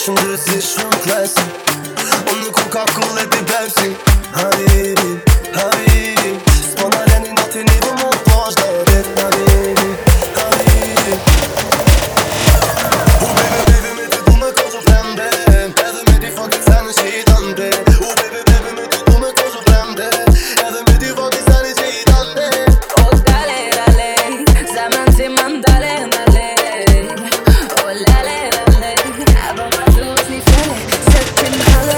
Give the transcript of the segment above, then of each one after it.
shumë gjithë si shumë klesi. Unë nuk ku ka kulle t'i Pepsi. Habibi, habibi, s'po na leni në t'i nivu mu posh dhe rrit. Habibi, habibi. Baby, baby, me ty du me kozu fremde. Edhe me ti fucking sani që i tante. Baby, baby, me ty du me kozu fremde. Edhe me ti fucking sani që i tante. Oh dale, dale, zaman ti mandale, dale. Oh lale, lale, abo ma plus ni fele, settim hale.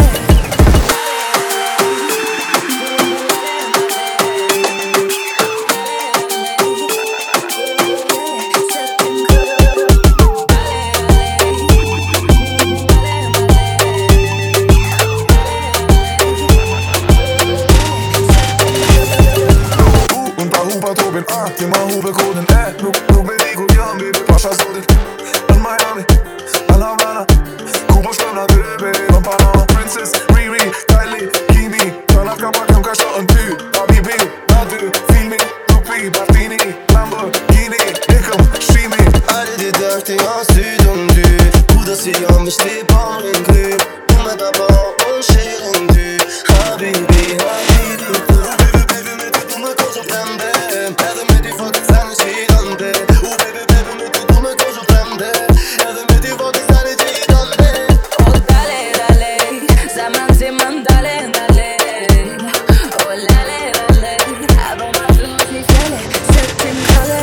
Ti ma hu për kodin, nuk me di ku jam, baby, pasha zotit. Në Miami, në Havana, ku po shkëm na dyre, baby, në Panama. Princess, Riri, Kylie, Kimi, të nat ka pak jam ka shotën ty. Habibi, na dy, filmi, tupi, Martini, Lamborghini, ikëm, shimi. Ari di dërti nga sy të ndy. Kudo si jam me shti pa në ngry. Du me ta pa unë shirën ty. Habibi, habibi. Baby, baby, me ty du me kozu fremde. Edhe me ti fucking sani që i tante. Baby, baby, me ty du me kozu fremde. Edhe me ti fucking sani që i tante. Oh dale, dale, zaman ti mandale, dale. Oh lale, lale, abo ma plus ni fele, settim hale.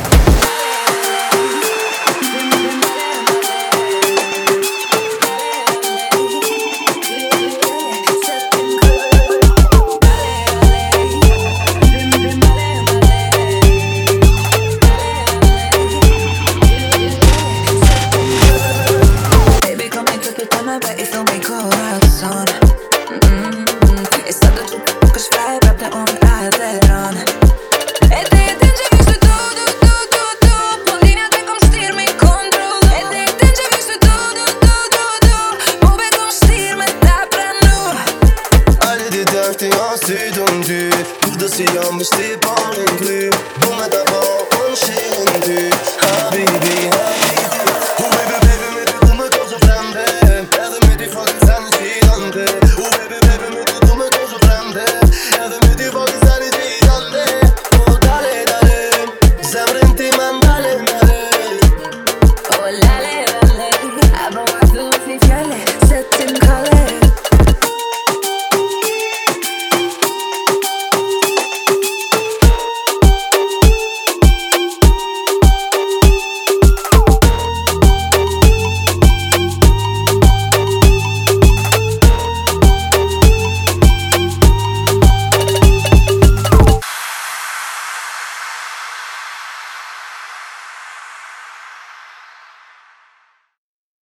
Baby, kom hit och ta mig bort ifrån min corazon. Istället tror jag que schrijf op de onraderon. Het je visto tudo, tudo, tudo. Blondina te kom styr me control. Het je visto tudo, tudo, tudo. Mobe kom styr me ta pra nu. Ari di dërti nga sy të ndy. Kudo si jam me shti pa në ngry. Du me ta pa unë shirën ty. Habibi, habibi. Baby, baby, me ty du me kozu fremde. Edhe me ti fucking sani që i tante. Baby, baby, me ty du me kozu fremde. Edhe me ti